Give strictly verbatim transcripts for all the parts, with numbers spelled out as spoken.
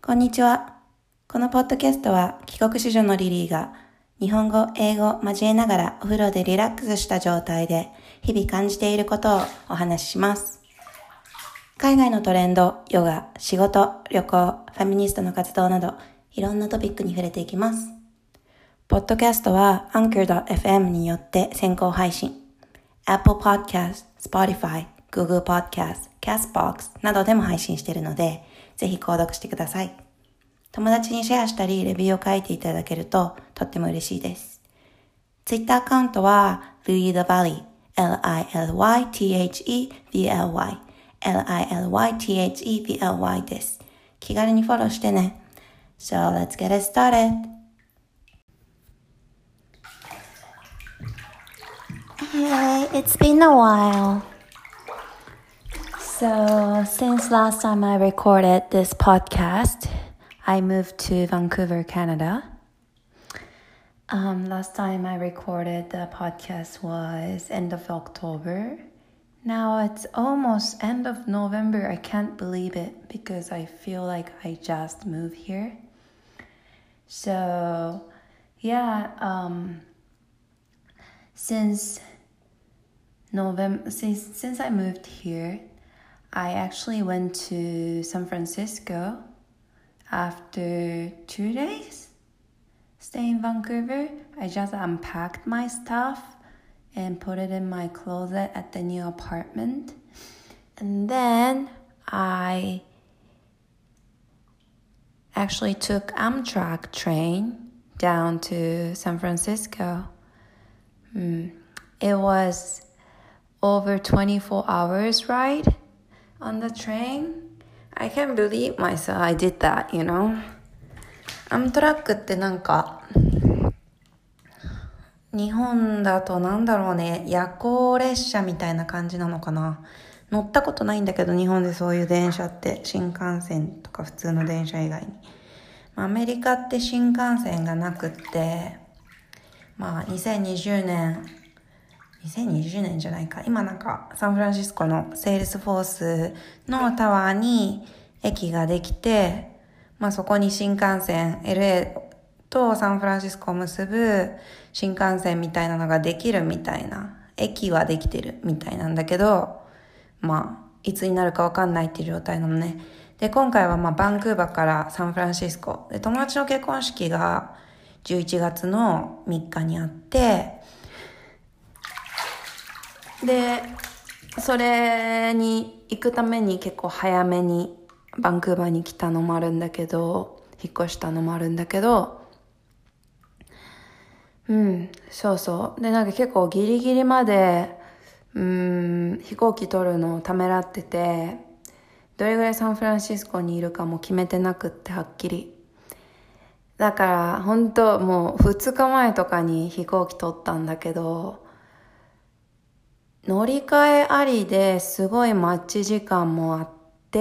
こんにちは。このポッドキャストは帰国子女のリリーが日本語、英語を交えながらお風呂でリラックスした状態で日々感じていることをお話しします。海外のトレンド、ヨガ、仕事、旅行、ファミニストの活動などいろんなトピックに触れていきます。ポッドキャストは アンカードットエフエム によって先行配信。Apple Podcast、Spotify、Google Podcast、Castbox などでも配信しているので、ぜひ購読してください。友達にシェアしたりレビューを書いていただけるととっても嬉しいです。Twitter アカウントは Lily the Valley、エルアイエルワイティーエイチイーブイエルワイ、エルアイエルワイティーエイチイーブイエルワイ です。気軽にフォローしてね。So let's get it started. Hey, it's been a while. So, since last time I recorded this podcast, I moved to Vancouver, Canada. Um, last time I recorded the podcast was end of October. Now it's almost end of November. I can't believe it because I feel like I just moved here. So, yeah, um, since November, since, since I moved here, I actually went to San Francisco after two days staying in Vancouver. I just unpacked my stuff and put it in my closet at the new apartment. And then I actually took Amtrak train down to San Francisco. Mm. It was over twenty-four hours ride on the train. I can't believe myself I did that, you know. アムトラックってなんか日本だとなんだろうね、夜行列車みたいな感じなのかな。乗ったことないんだけど、日本でそういう電車って新幹線とか普通の電車以外に、アメリカって新幹線がなくって、まあにせんにじゅうねんにせんにじゅうねんじゃないか。今なんかサンフランシスコのセールスフォースのタワーに駅ができて、まあそこに新幹線 エルエー とサンフランシスコを結ぶ新幹線みたいなのができるみたいな、駅はできてるみたいなんだけど、まあいつになるかわかんないっていう状態なのね。で今回はまあバンクーバーからサンフランシスコで、友達の結婚式がじゅういちがつのみっかにあって、でそれに行くために結構早めにバンクーバーに来たのもあるんだけど、引っ越したのもあるんだけど、うんそうそうでなんか結構ギリギリまでうーん飛行機取るのをためらってて、どれぐらいサンフランシスコにいるかも決めてなくって、はっきりだから本当もうふつかまえとかに飛行機取ったんだけど、乗り換えありですごい待ち時間もあって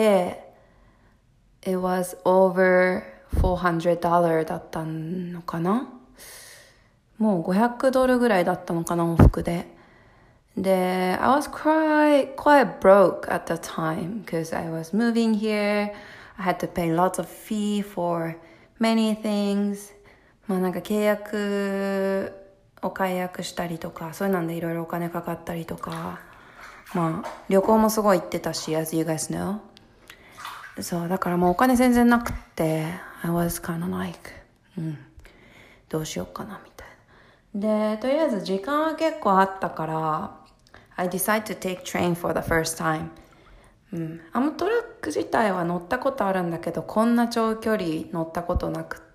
、It was over four hundred dollars だったのかな。もうごひゃくドルぐらいだったのかな、往復で。で、I was quite, quite broke at the time because I was moving here. I had to pay lots of fee for many things. まあなんか契約お解約したりとか、そういうのでいろいろお金かかったりとか、まあ旅行もすごい行ってたし、as you guys know。そうだからもうお金全然なくって、I was kind of like、うん、どうしようかなみたいな。でとりあえず時間は結構あったから、I decided to take train for the first time。うん、アムトラック自体は乗ったことあるんだけど、こんな長距離乗ったことなくって、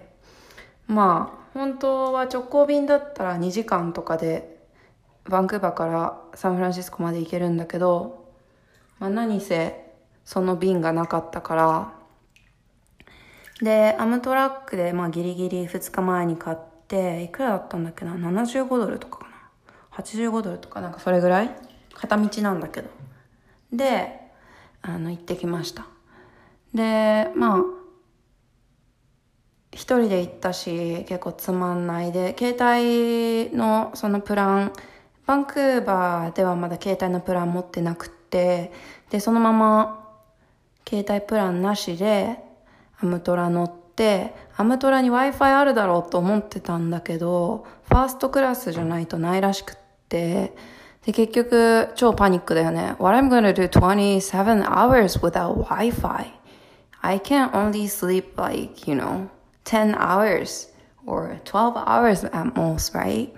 まあ本当は直行便だったらにじかんとかでバンクーバーからサンフランシスコまで行けるんだけど、まあ、何せその便がなかったから、でアムトラックでまあギリギリふつかまえに買って、いくらだったんだっけな、ななじゅうごドルとかかな、はちじゅうごドルとかなんかそれぐらい、片道なんだけど、であの行ってきました。でまあ一人で行ったし結構つまんないで、携帯のそのプラン、バンクーバーではまだ携帯のプラン持ってなくって、でそのまま携帯プランなしでアムトラ乗って、アムトラに Wi-Fi あるだろうと思ってたんだけど、ファーストクラスじゃないとないらしくって、で、結局、超パニックだよね。What I'm gonna do twenty-seven hours without Wi-Fi? I can only sleep like, you know, ten hours or twelve hours at most, right?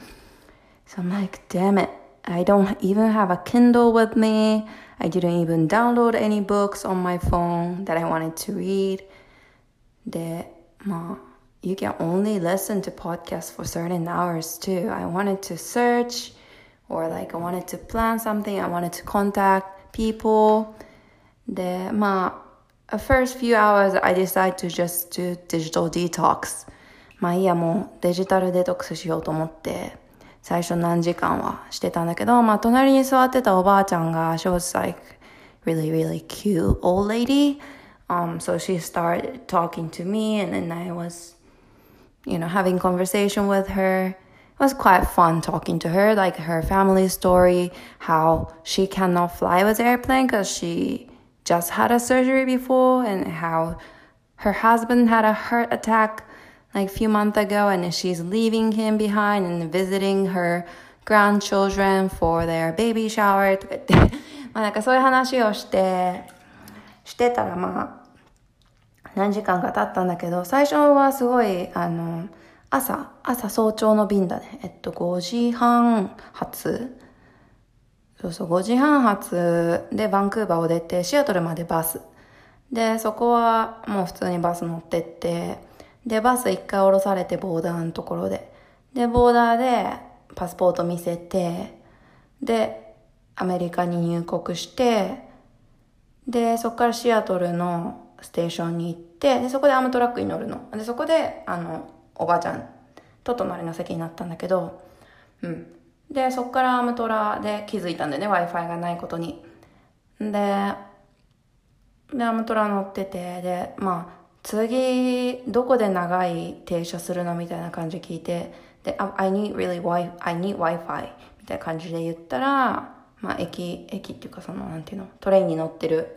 So I'm like, damn it. I don't even have a Kindle with me. I didn't even download any books on my phone that I wanted to read. で、まあ、you can only listen to podcasts for certain hours too. I wanted to search or like I wanted to plan something. I wanted to contact people. で、まあ、first few hours I decided to just do digital detox. まあいいや、もうデジタルデトックスしようと思って、最初何時間はしてたんだけど、まあ隣に座ってたおばあちゃんが、she was like really, really cute old lady. Um, so she started talking to me and then I was, you know, having conversation with her. It was quite fun talking to her, like her family story, how she cannot fly with airplane because she just had a surgery before and how her husband had a heart attack like a few months ago and she's leaving him behind and visiting her grandchildren for their baby shower とか言ってまあなんかそういう話をしてしてたらまあ何時間か経ったんだけど最初はすごいあの朝朝早朝の便だねえっとごじはん発そうそうごじはん発でバンクーバーを出てシアトルまでバスでそこはもう普通にバス乗ってってでバス一回降ろされてボーダーのところででボーダーでパスポート見せてでアメリカに入国してでそこからシアトルのステーションに行ってでそこでアムトラックに乗るのでそこであのおばあちゃんと隣の席になったんだけどうんでそこからアムトラで気づいたんだよね Wi-Fi がないことにででアムトラ乗っててでまあ次どこで長い停車するのみたいな感じ聞いてで I need really Wi I need Wi-Fi みたいな感じで言ったらまあ駅駅っていうかそのなんていうのトレインに乗ってる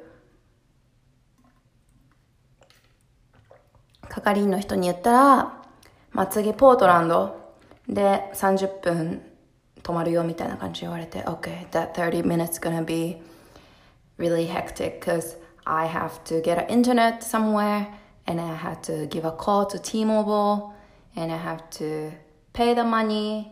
係員の人に言ったらまあ次ポートランドでさんじゅっぷん止まるよみたいな感じで言われて Okay, that thirty minutes gonna be really hectic because I have to get an internet somewhere and I have to give a call to T-Mobile and I have to pay the money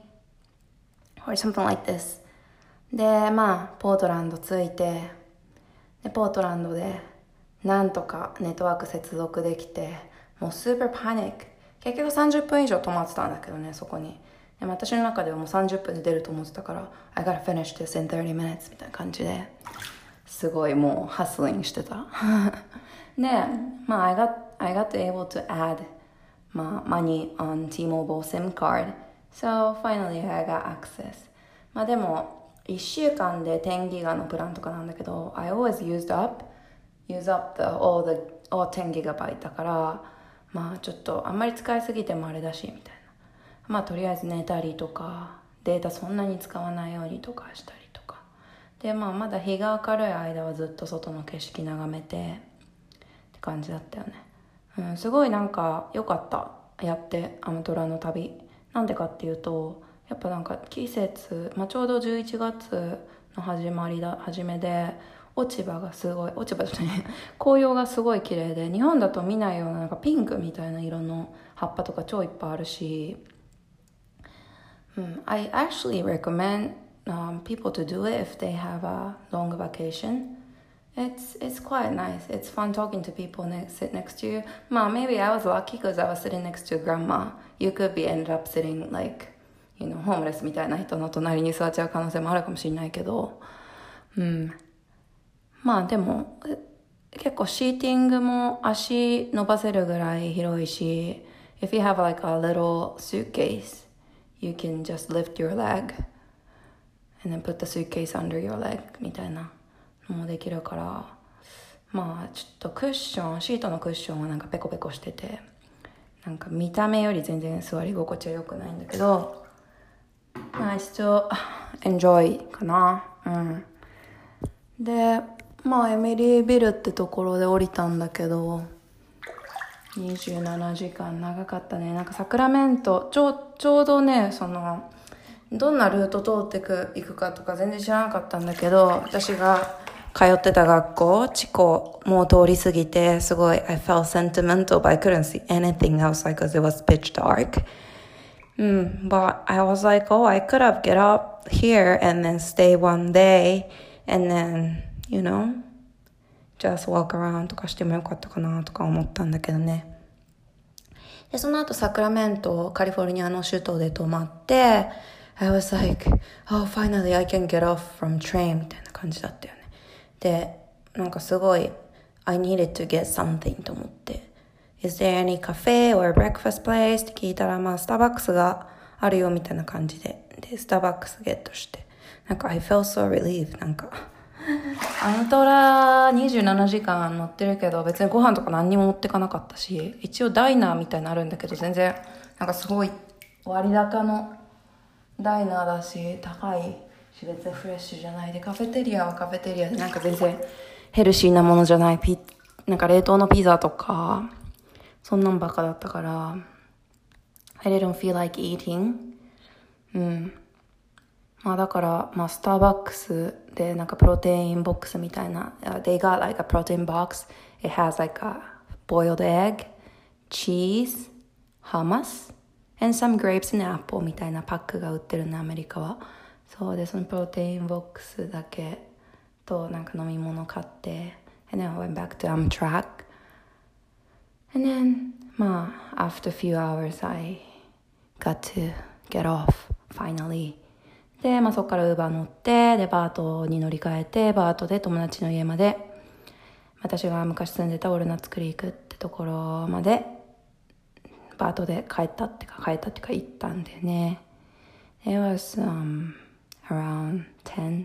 or something like this でまあポートランド着いてでポートランドでなんとかネットワーク接続できてもうスーパーパニック結局さんじゅっぷん以上止まってたんだけどねそこにでも私の中ではもうさんじゅっぷんで出ると思ってたから I gotta finish this in thirty minutes みたいな感じですごいもうハスリングしてたでまあ I got, I got able to add まあ money on T-Mobile SIM card so finally I got access まあでもいっしゅうかんでじゅうギガのプランとかなんだけど I always used up use up the, all the all ten gigabyte だからまあちょっとあんまり使いすぎてもあれだしみたいなまあとりあえず寝たりとかデータそんなに使わないようにとかしたりとかでまあまだ日が明るい間はずっと外の景色眺めてって感じだったよね、うん、すごいなんか良かったやってアムトラの旅なんでかっていうとやっぱなんか季節、まあ、ちょうどじゅういちがつの始まりだ初めで落ち葉がすごい落ち葉じゃない紅葉がすごい綺麗で日本だと見ないようななんかピンクみたいな色の葉っぱとか超いっぱいあるし、うん、I actually recommend、um, people to do it if they have a long vacation it's, it's quite nice it's fun talking to people next, sit next to you まあ maybe I was lucky because I was sitting next to grandma you could be ended up sitting like you know homeless みたいな人の隣に座っちゃう可能性もあるかもしれないけどうんまあでも結構シーティングも足伸ばせるぐらい広いし If you have like a little suitcase you can just lift your leg and then put the suitcase under your leg みたいなのもできるからまあちょっとクッションシートのクッションはなんかペコペコしててなんか見た目より全然座り心地は良くないんだけどまあ一応 enjoy かなうんでまあエミリービルってところで降りたんだけどにじゅうななじかん長かったね。なんかサクラメント、ちょう、ちょうどね、その、どんなルート通ってく、行くかとか全然知らなかったんだけど、私が通ってた学校、地高もう通り過ぎて、すごい、I felt sentimental, but I couldn't see anything outside because it was pitch dark. Mm, but I was like, oh, I could have get up here and then stay one day and then, you know, just walk around とかしてもよかったかなとか思ったんだけどね。で、その後サクラメント、カリフォルニアの首都で泊まって、I was like, oh, finally I can get off from train みたいな感じだったよね。で、なんかすごい、I needed to get something と思って、Is there any cafe or breakfast place? って聞いたら、まあ、スターバックスがあるよみたいな感じで、で、スターバックスゲットして、なんか I felt so relieved なんか、アムトラにじゅうななじかん乗ってるけど、別にご飯とか何にも持ってかなかったし、一応ダイナーみたいなのあるんだけど、全然、なんかすごい割高のダイナーだし、高いし、別にフレッシュじゃないで、カフェテリアはカフェテリアで、なんか全然ヘルシーなものじゃない、ピなんか冷凍のピザとか、そんなんばっかだったから、I didn't feel like eating. うん。まあだから、まあスターバックスでなんかプロテインボックスみたいな、they got like a protein box. It has like a boiled egg, cheese, hummus, and some grapes and apple みたいなパックが売ってるね、アメリカは。そうで、そのプロテインボックスだけとなんか飲み物買って、and then I went back to Amtrak.And then, まあ、after a few hours, I got to get off, finally. で、まあそこからウーバー乗って、で、バートに乗り換えて、バートで友達の家まで、私が昔住んでたオルナッツクリークってところまで、バートで帰ったってか、帰ったってか行ったんでね。It was, um, around ten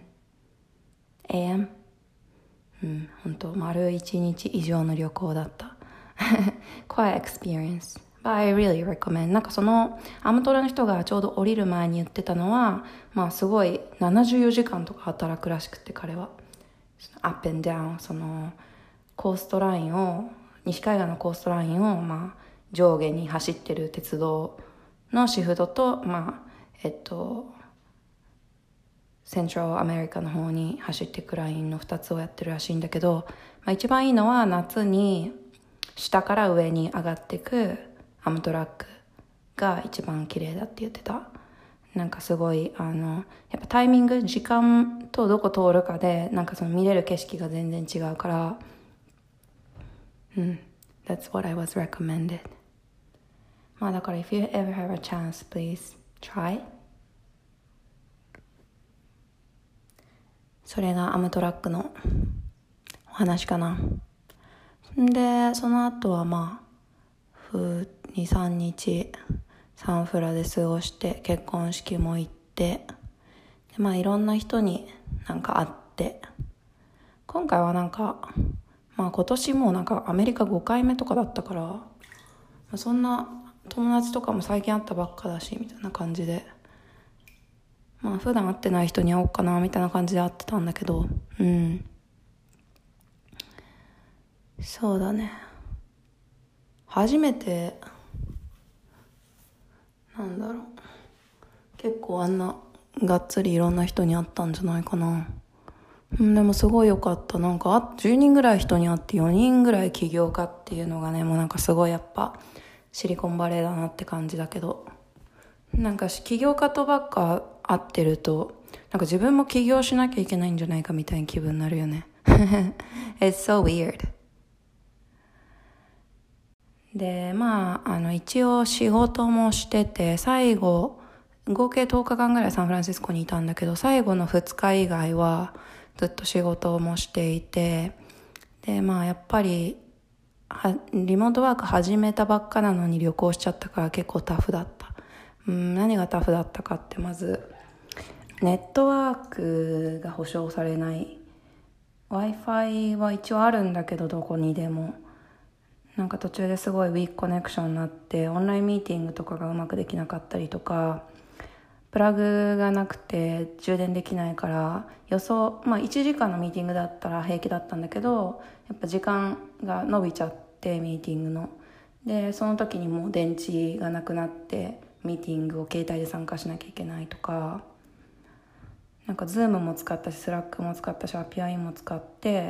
a.m. うん、ほんと、丸一日以上の旅行だった。Quite experience. But I really recommend. なんかそのアムトラの人がちょうど降りる前に言ってたのは、まあすごいななじゅうよじかんとか働くらしくて、彼は。up and down. そのコーストラインを、西海岸のコーストラインを、まあ上下に走ってる鉄道のシフトと、まあ、えっと、セントラルアメリカの方に走っていくラインのふたつをやってるらしいんだけど、まあ一番いいのは夏に下から上に上がっていくアムトラックが一番綺麗だって言ってた。なんかすごい、あの、やっぱタイミング、時間とどこ通るかで、なんかその見れる景色が全然違うから、うん。That's what I was recommended. まあだから、if you ever have a chance, please try. それがアムトラックのお話かな。で、その後はまあ、に、さんにちサンフラで過ごして、結婚式も行って、でまあいろんな人になんか会って、今回はなんか、まあ今年もなんかアメリカごかいめとかだったから、まあ、そんな友達とかも最近会ったばっかだし、みたいな感じで、まあ普段会ってない人に会おうかな、みたいな感じで会ってたんだけど、うん。そうだね。初めて、なんだろう。結構あんながっつりいろんな人に会ったんじゃないかな。うん、でもすごい良かった。なんかじゅうにんぐらい人に会ってよにんぐらい起業家っていうのがね、もうなんかすごいやっぱシリコンバレーだなって感じだけど。なんか起業家とばっか会ってると、なんか自分も起業しなきゃいけないんじゃないかみたいな気分になるよね。It's so weird.で、まあ、あの、一応仕事もしてて、最後、合計とおかかんぐらいサンフランシスコにいたんだけど、最後のふつか以外はずっと仕事もしていて、で、まあ、やっぱり、は、リモートワーク始めたばっかなのに旅行しちゃったから結構タフだった。うん、何がタフだったかって、まず、ネットワークが保証されない。Wi-Fi は一応あるんだけど、どこにでも。なんか途中ですごいウィークコネクションになってオンラインミーティングとかがうまくできなかったりとか、プラグがなくて充電できないから予想、まあいちじかんのミーティングだったら平気だったんだけど、やっぱ時間が伸びちゃってミーティングのでその時にもう電池がなくなってミーティングを携帯で参加しなきゃいけないとか、なんか Zoom も使ったし Slack も使ったし エーピーアイ も使って、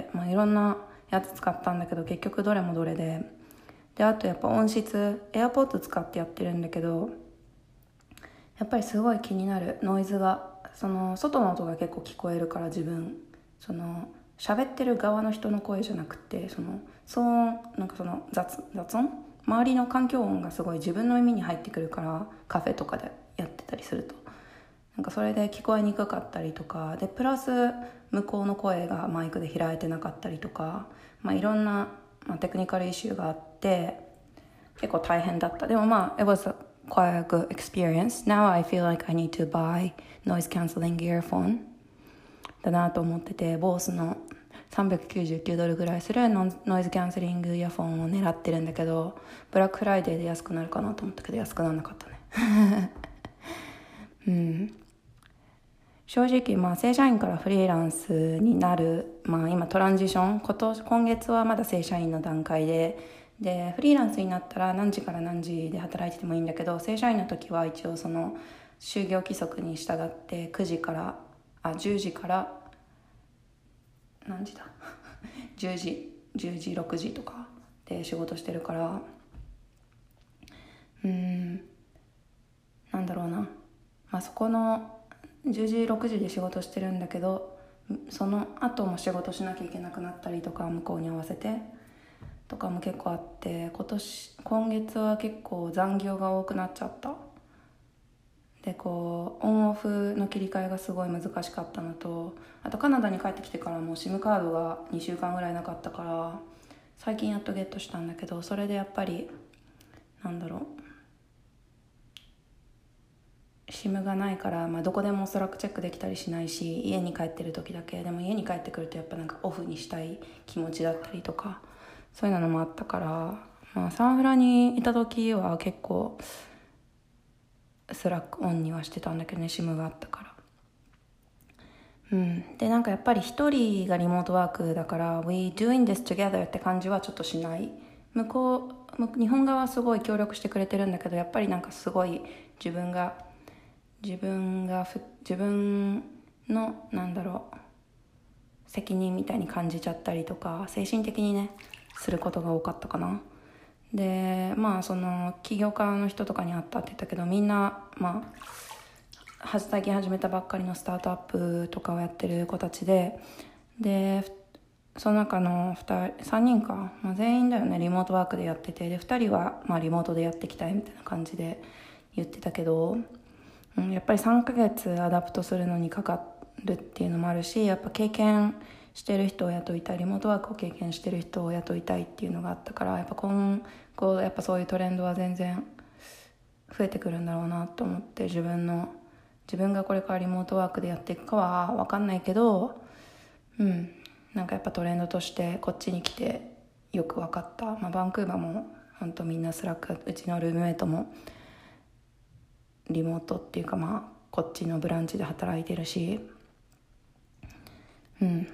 まあ、いろんなやつ使ったんだけど結局どれもどれで、であとやっぱ音質 AirPods 使ってやってるんだけど、やっぱりすごい気になるノイズが、その外の音が結構聞こえるから、自分その喋ってる側の人の声じゃなくて、その騒音、なんかその 雑, 雑音周りの環境音がすごい自分の耳に入ってくるから、カフェとかでやってたりするとなんかそれで聞こえにくかったりとかで、プラス向こうの声がマイクで拾えてなかったりとか、まあ、いろんな、まあ、テクニカルイシューがあって結構大変だった。でもまあ it was quite a good experience. Now I feel like I need to buy noise cancelling earphone だなと思ってて、ボースのさんびゃくきゅうじゅうきゅうドルぐらいするノイズキャンセリングイヤフォンを狙ってるんだけど、ブラックフライデーで安くなるかなと思ったけど安くならなかったねうん、正直まあ正社員からフリーランスになる、まあ、今トランジション、今年今月はまだ正社員の段階ででフリーランスになったら何時から何時で働いててもいいんだけど、正社員の時は一応その就業規則に従ってくじからあじゅうじから何時だじゅうじじゅうじろくじとかで仕事してるから、うーんなんだろうな、まあ、そこのじゅうじろくじで仕事してるんだけど、その後も仕事しなきゃいけなくなったりとか、向こうに合わせてとかも結構あって、今年今月は結構残業が多くなっちゃった。でこうオンオフの切り替えがすごい難しかったのと、あとカナダに帰ってきてからも SIM カードがにしゅうかんぐらいなかったから、最近やっとゲットしたんだけど、それでやっぱりなんだろう、 SIM がないから、まあ、どこでもスラックチェックできたりしないし、家に帰ってる時だけでも、家に帰ってくるとやっぱなんかオフにしたい気持ちだったりとか、そういうのもあったから、まあ、サンフラにいた時は結構スラックオンにはしてたんだけどね、 SIM があったから。うん、でなんかやっぱり一人がリモートワークだから We doing this together って感じはちょっとしない。向こう日本側はすごい協力してくれてるんだけど、やっぱりなんかすごい自分が自分が自分のなんだろう責任みたいに感じちゃったりとか、精神的にねすることが多かったかな。でまあその起業家の人とかに会ったって言ったけど、みんなまあ最近始めたばっかりのスタートアップとかをやってる子たちで、でその中のふたりさんにんか、まあ、全員だよねリモートワークでやってて、でふたりはまあリモートでやっていきたいみたいな感じで言ってたけど、うん、やっぱりさんかげつアダプトするのにかかるっていうのもあるし、やっぱ経験してる人を雇いたい、リモートワークを経験してる人を雇いたいっていうのがあったから、やっぱ今後やっぱそういうトレンドは全然増えてくるんだろうなと思って、自分の自分がこれからリモートワークでやっていくかは分かんないけど、うんなんかやっぱトレンドとしてこっちに来てよく分かった。まあ、バンクーバーも本当みんなスラック、うちのルームメイトもリモートっていうか、まあこっちのブランチで働いてるし、うん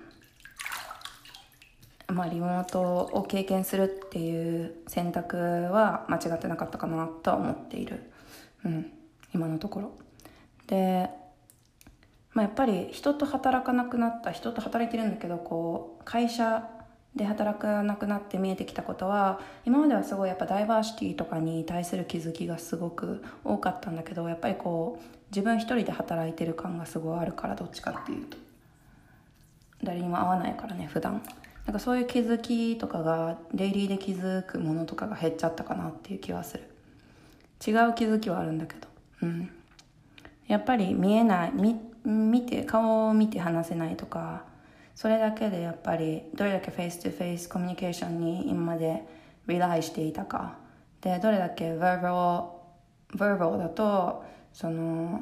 まあリモートを経験するっていう選択は間違ってなかったかなとは思っている、うん、今のところで、まあ、やっぱり人と働かなくなった人と働いてるんだけど、こう会社で働かなくなって見えてきたことは、今まではすごいやっぱダイバーシティとかに対する気づきがすごく多かったんだけど、やっぱりこう自分一人で働いてる感がすごいあるから、どっちかっていうと誰にも会わないからね普段、なんかそういう気づきとかがデイリーで気づくものとかが減っちゃったかなっていう気はする。違う気づきはあるんだけど、うんやっぱり見えない、見、見て顔を見て話せないとか、それだけでやっぱりどれだけフェイストゥフェイスコミュニケーションに今までリライしていたかで、どれだけ verbal verbal だとその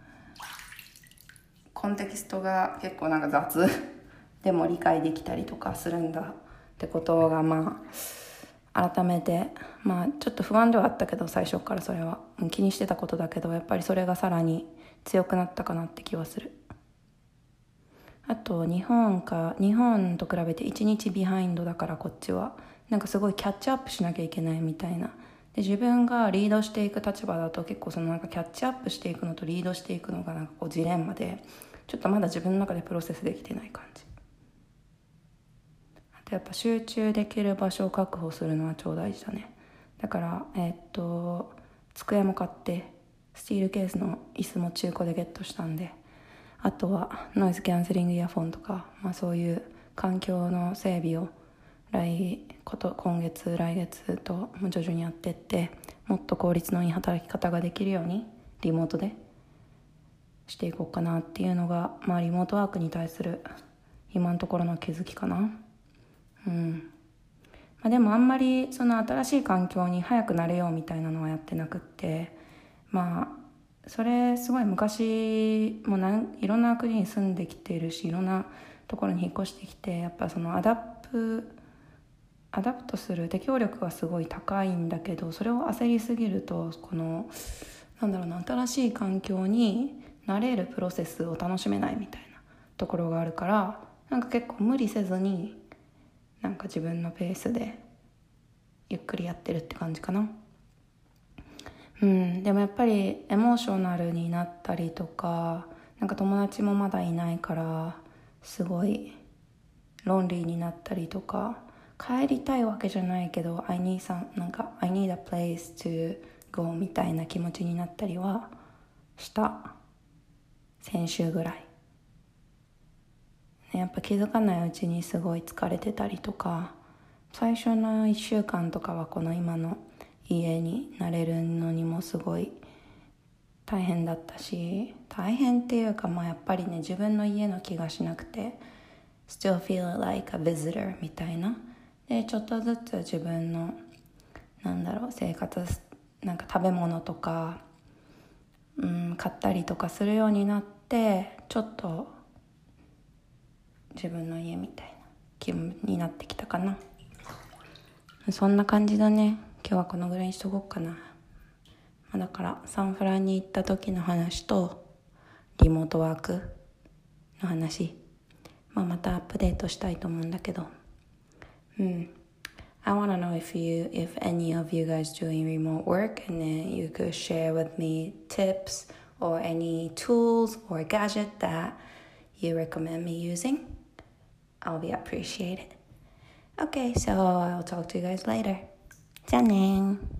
コンテキストが結構なんか雑でも理解できたりとかするんだってことが、まあ改めてまあちょっと不安ではあったけど、最初からそれは気にしてたことだけど、やっぱりそれがさらに強くなったかなって気はする。あと日本か日本と比べていちにちビハインドだから、こっちはなんかすごいキャッチアップしなきゃいけないみたいなで自分がリードしていく立場だと結構そのなんかキャッチアップしていくのとリードしていくのがなんかこうジレンマで、ちょっとまだ自分の中でプロセスできてない感じ。あとやっぱ集中できる場所を確保するのは超大事だね。だからえー、っと机も買ってスチールケースの椅子も中古でゲットしたんで、あとはノイズキャンセリングイヤホンとか、まあ、そういう環境の整備を来こと今月来月と徐々にやっていって、もっと効率のいい働き方ができるようにリモートでしていこうかなっていうのが、まあ、リモートワークに対する今のところの気づきかな。うんまあ、でもあんまりその新しい環境に早く慣れようみたいなのはやってなくって、まあそれすごい昔もなんいろんな国に住んできているし、いろんなところに引っ越してきて、やっぱそのアダプアダプトする適応力がすごい高いんだけど、それを焦りすぎるとこのなんだろうな新しい環境に慣れるプロセスを楽しめないみたいなところがあるから、なんか結構無理せずになんか自分のペースでゆっくりやってるって感じかな。うん、でもやっぱりエモーショナルになったりとか、なんか友達もまだいないからすごいロンリーになったりとか、帰りたいわけじゃないけど I need some なんか I need a place to go みたいな気持ちになったりはした先週ぐらい。やっぱ気づかないうちにすごい疲れてたりとか、最初のいっしゅうかんとかはこの今の家に慣れるのにもすごい大変だったし、大変っていうか、まあやっぱりね自分の家の気がしなくて still feel like a visitor みたいな。でちょっとずつ自分のなんだろう生活なんか食べ物とか、うん、買ったりとかするようになって、ちょっと自分の家みたいな気分になってきたかな。そんな感じだね。今日はこのぐらいにしとこうかな。だからサンフランに行った時の話とリモートワークの話、まあ、またアップデートしたいと思うんだけど、うん。I want to know if you, if any of you guys doing remote work, and then you could share with me tips or any tools or gadget that you recommend me using. I'll be appreciated. Okay, so I'll talk to you guys later. じゃあねー。